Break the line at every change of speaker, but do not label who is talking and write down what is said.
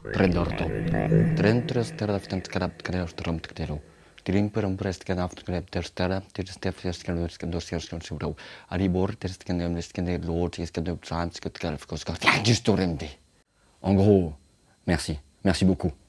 Predorto. Trentros teraftent karab kreostrom tkero. Tiring perumprest kan aftrep terstara, terstefjes kan dosiers kan subro. Aribor tersken de lord kan de trans que kalf koskat. Ja, juste au remde. En gros, merci. Merci beaucoup.